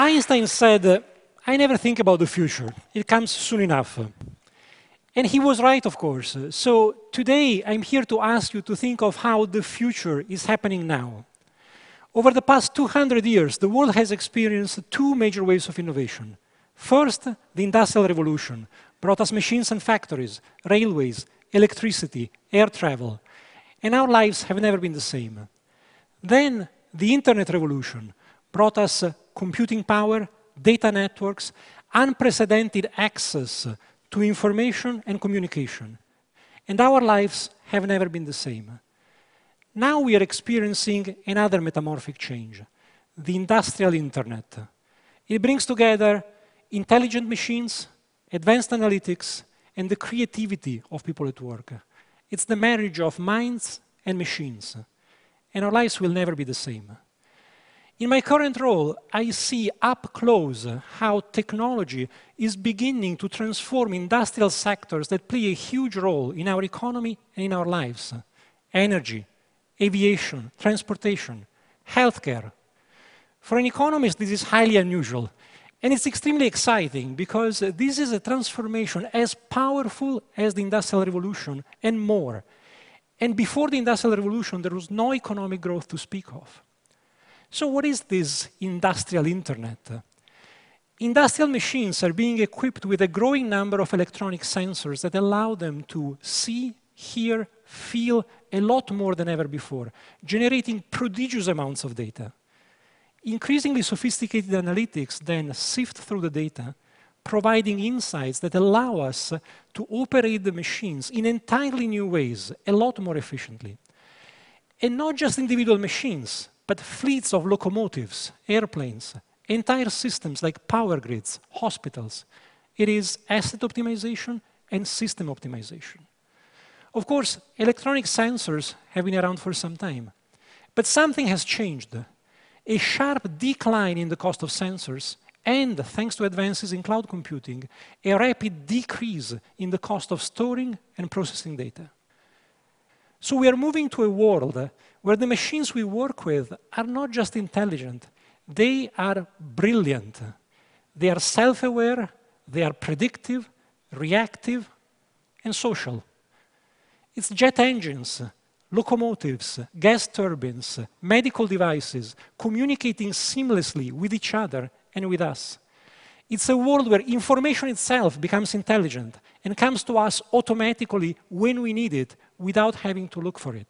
Einstein said, I never think about the future. It comes soon enough. And he was right, of course. So today, I'm here to ask you to think of how the future is happening now. Over the past 200 years, the world has experienced two major waves of innovation. First, the Industrial Revolution brought us machines and factories, railways, electricity, air travel. And our lives have never been the same. Then, the Internet Revolution brought us computing power, data networks, unprecedented access to information and communication. And our lives have never been the same. Now we are experiencing another metamorphic change, the industrial internet. It brings together intelligent machines, advanced analytics, and the creativity of people at work. It's the marriage of minds and machines. And our lives will never be the same. In my current role, I see up close how technology is beginning to transform industrial sectors that play a huge role in our economy and in our lives. Energy, aviation, transportation, healthcare. For an economist, this is highly unusual. And it's extremely exciting because this is a transformation as powerful as the Industrial Revolution and more. And before the Industrial Revolution, there was no economic growth to speak of. So what is this industrial internet? Industrial machines are being equipped with a growing number of electronic sensors that allow them to see, hear, feel a lot more than ever before, generating prodigious amounts of data. Increasingly sophisticated analytics then sift through the data, providing insights that allow us to operate the machines in entirely new ways, a lot more efficiently. And not just individual machines, but fleets of locomotives, airplanes, entire systems like power grids, hospitals. It is asset optimization and system optimization. Of course, electronic sensors have been around for some time, but something has changed. A sharp decline in the cost of sensors and, thanks to advances in cloud computing, a rapid decrease in the cost of storing and processing data. So we are moving to a world where the machines we work with are not just intelligent, they are brilliant. They are self-aware, they are predictive, reactive, and social. It's jet engines, locomotives, gas turbines, medical devices communicating seamlessly with each other and with us. It's a world where information itself becomes intelligent and comes to us automatically when we need it without having to look for it.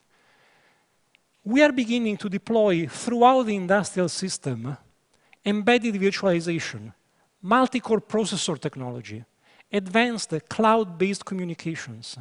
We are beginning to deploy throughout the industrial system embedded virtualization, multi-core processor technology, advanced cloud-based communications,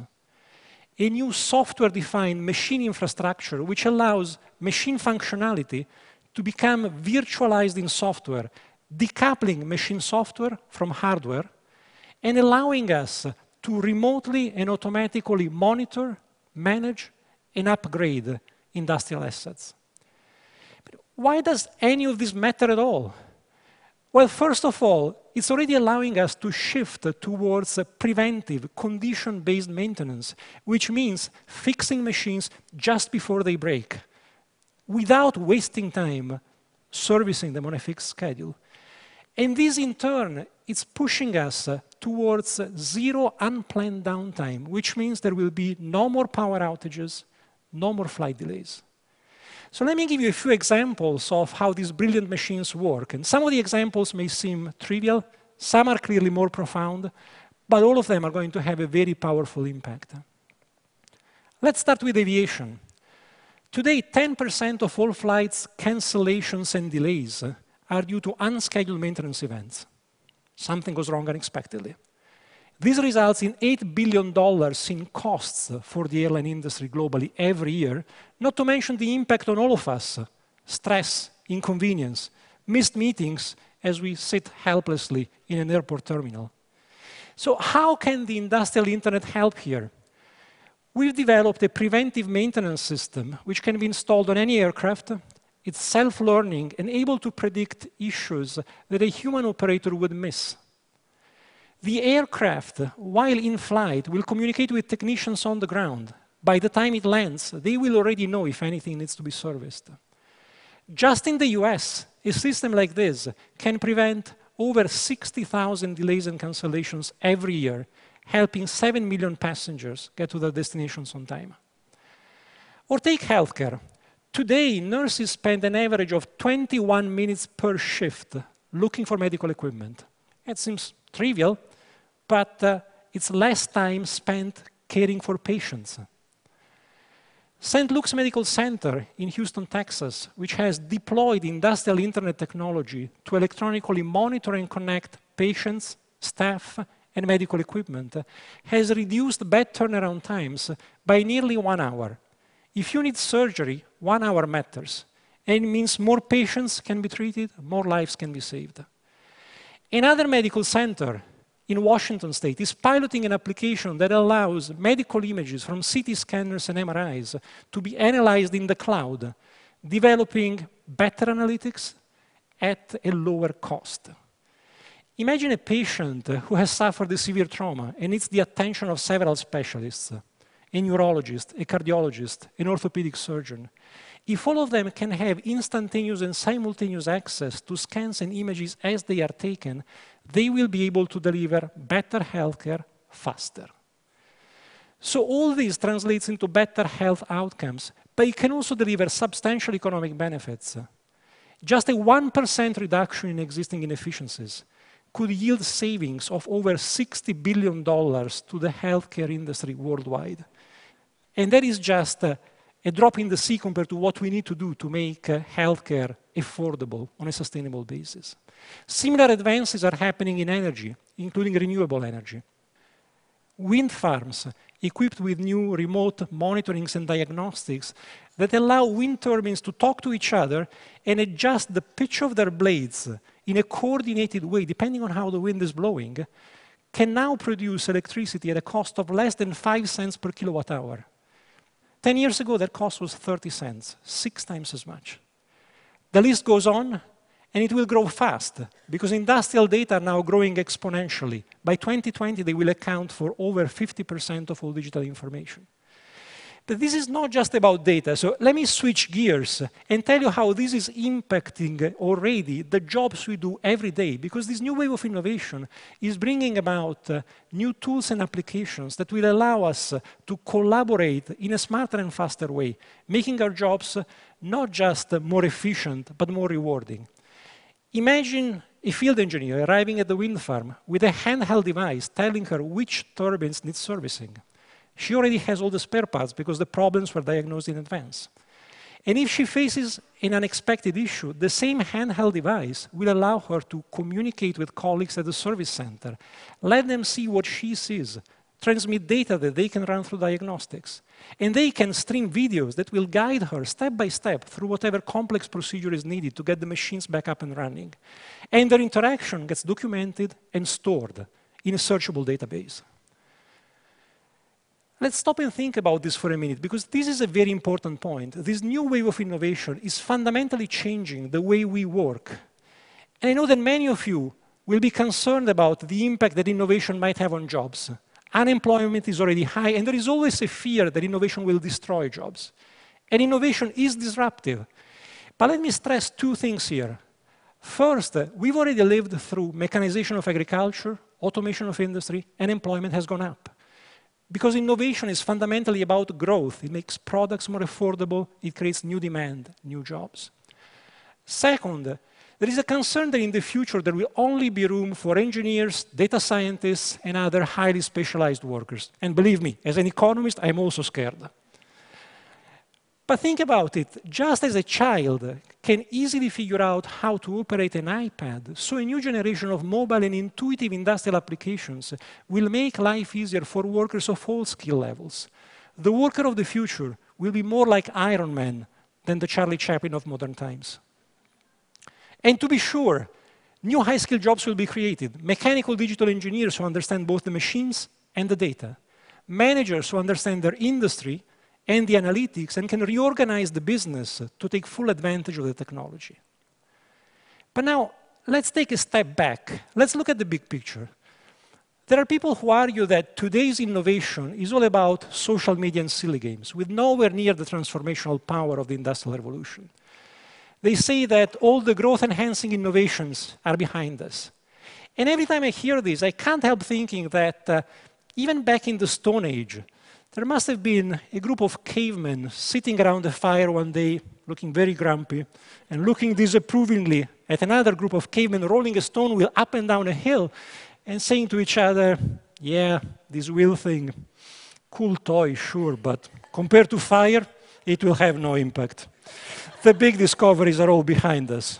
a new software-defined machine infrastructure which allows machine functionality to become virtualized in software, decoupling machine software from hardware, and allowing us to remotely and automatically monitor, manage, and upgrade industrial assets. But why does any of this matter at all? Well, first of all, it's already allowing us to shift towards preventive, condition-based maintenance, which means fixing machines just before they break, without wasting time servicing them on a fixed schedule. And this, in turn, is pushing us towards zero unplanned downtime, which means there will be no more power outages, no more flight delays. So let me give you a few examples of how these brilliant machines work. And some of the examples may seem trivial, some are clearly more profound, but all of them are going to have a very powerful impact. Let's start with aviation. Today, 10% of all flights cancellations and delays are due to unscheduled maintenance events. Something goes wrong unexpectedly. This results in $8 billion in costs for the airline industry globally every year, not to mention the impact on all of us, stress, inconvenience, missed meetings as we sit helplessly in an airport terminal. So how can the industrial internet help here? We've developed a preventive maintenance system which can be installed on any aircraft. It's self-learning and able to predict issues that a human operator would miss. The aircraft, while in flight, will communicate with technicians on the ground. By the time it lands, they will already know if anything needs to be serviced. Just in the US, a system like this can prevent over 60,000 delays and cancellations every year, helping 7 million passengers get to their destinations on time. Or take healthcare. Today, nurses spend an average of 21 minutes per shift looking for medical equipment. It seems trivial, but it's less time spent caring for patients. St. Luke's Medical Center in Houston, Texas, which has deployed industrial internet technology to electronically monitor and connect patients, staff, and medical equipment, has reduced bed turnaround times by nearly 1 hour. If you need surgery, 1 hour matters. And it means more patients can be treated, more lives can be saved. Another medical center in Washington State is piloting an application that allows medical images from CT scanners and MRIs to be analyzed in the cloud, developing better analytics at a lower cost. Imagine a patient who has suffered a severe trauma and needs the attention of several specialists, a neurologist, a cardiologist, an orthopedic surgeon. If all of them can have instantaneous and simultaneous access to scans and images as they are taken, they will be able to deliver better healthcare faster. So all this translates into better health outcomes, but it can also deliver substantial economic benefits. Just a 1% reduction in existing inefficiencies could yield savings of over $60 billion to the healthcare industry worldwide. And that is just a drop in the sea compared to what we need to do to make healthcare affordable on a sustainable basis. Similar advances are happening in energy, including renewable energy. Wind farms equipped with new remote monitorings and diagnostics that allow wind turbines to talk to each other and adjust the pitch of their blades in a coordinated way, depending on how the wind is blowing, can now produce electricity at a cost of less than 5 cents per kilowatt hour. 10 years ago, that cost was 30 cents, 6 times as much. The list goes on, and it will grow fast, because industrial data are now growing exponentially. By 2020, they will account for over 50% of all digital information. But this is not just about data, so let me switch gears and tell you how this is impacting already the jobs we do every day, because this new wave of innovation is bringing about new tools and applications that will allow us to collaborate in a smarter and faster way, making our jobs not just more efficient, but more rewarding. Imagine a field engineer arriving at the wind farm with a handheld device telling her which turbines need servicing. She already has all the spare parts because the problems were diagnosed in advance. And if she faces an unexpected issue, the same handheld device will allow her to communicate with colleagues at the service center, let them see what she sees, transmit data that they can run through diagnostics. And they can stream videos that will guide her step by step through whatever complex procedure is needed to get the machines back up and running. And their interaction gets documented and stored in a searchable database. Let's stop and think about this for a minute, because this is a very important point. This new wave of innovation is fundamentally changing the way we work. And I know that many of you will be concerned about the impact that innovation might have on jobs. Unemployment is already high, and there is always a fear that innovation will destroy jobs. And innovation is disruptive. But let me stress 2 things here. First, we've already lived through mechanization of agriculture, automation of industry, and employment has gone up. Because innovation is fundamentally about growth. It makes products more affordable. It creates new demand, new jobs. Second, there is a concern that in the future there will only be room for engineers, data scientists, and other highly specialized workers. And believe me, as an economist, I'm also scared. But think about it. Just as a child can easily figure out how to operate an iPad, so a new generation of mobile and intuitive industrial applications will make life easier for workers of all skill levels. The worker of the future will be more like Iron Man than the Charlie Chaplin of modern times. And to be sure, new high-skilled jobs will be created. Mechanical digital engineers who understand both the machines and the data. Managers who understand their industry and the analytics and can reorganize the business to take full advantage of the technology. But now, let's take a step back. Let's look at the big picture. There are people who argue that today's innovation is all about social media and silly games, with nowhere near the transformational power of the Industrial Revolution. They say that all the growth-enhancing innovations are behind us. And every time I hear this, I can't help thinking that even back in the Stone Age, there must have been a group of cavemen sitting around a fire one day, looking very grumpy, and looking disapprovingly at another group of cavemen rolling a stone wheel up and down a hill, and saying to each other, yeah, this wheel thing, cool toy, sure, but compared to fire, it will have no impact. The big discoveries are all behind us.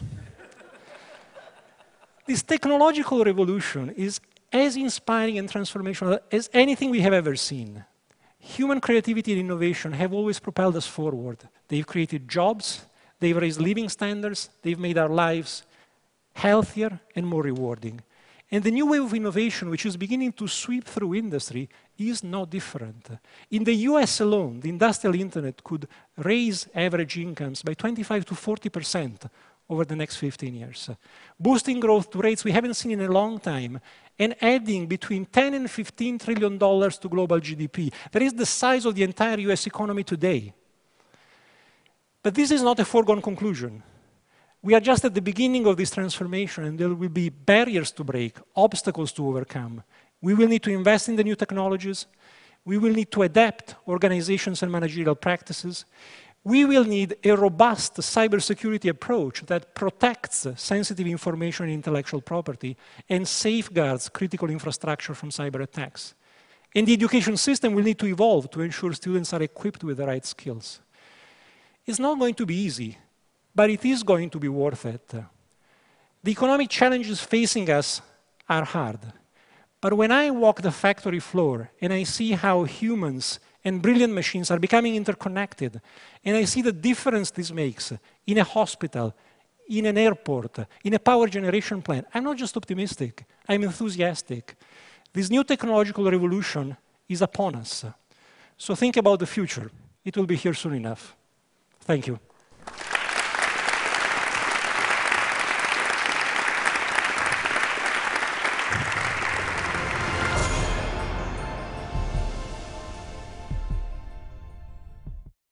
This technological revolution is as inspiring and transformational as anything we have ever seen. Human creativity and innovation have always propelled us forward. They've created jobs, they've raised living standards, they've made our lives healthier and more rewarding. And the new wave of innovation, which is beginning to sweep through industry, is no different. In the US alone, the industrial internet could raise average incomes by 25 to 40% over the next 15 years, boosting growth to rates we haven't seen in a long time, and adding between $10 and $15 trillion to global GDP. That is the size of the entire US economy today. But this is not a foregone conclusion. We are just at the beginning of this transformation, and there will be barriers to break, obstacles to overcome. We will need to invest in the new technologies. We will need to adapt organizations and managerial practices. We will need a robust cybersecurity approach that protects sensitive information and intellectual property and safeguards critical infrastructure from cyber attacks. And the education system will need to evolve to ensure students are equipped with the right skills. It's not going to be easy, but it is going to be worth it. The economic challenges facing us are hard. But when I walk the factory floor and I see how humans and brilliant machines are becoming interconnected, and I see the difference this makes in a hospital, in an airport, in a power generation plant, I'm not just optimistic, I'm enthusiastic. This new technological revolution is upon us. So think about the future. It will be here soon enough. Thank you.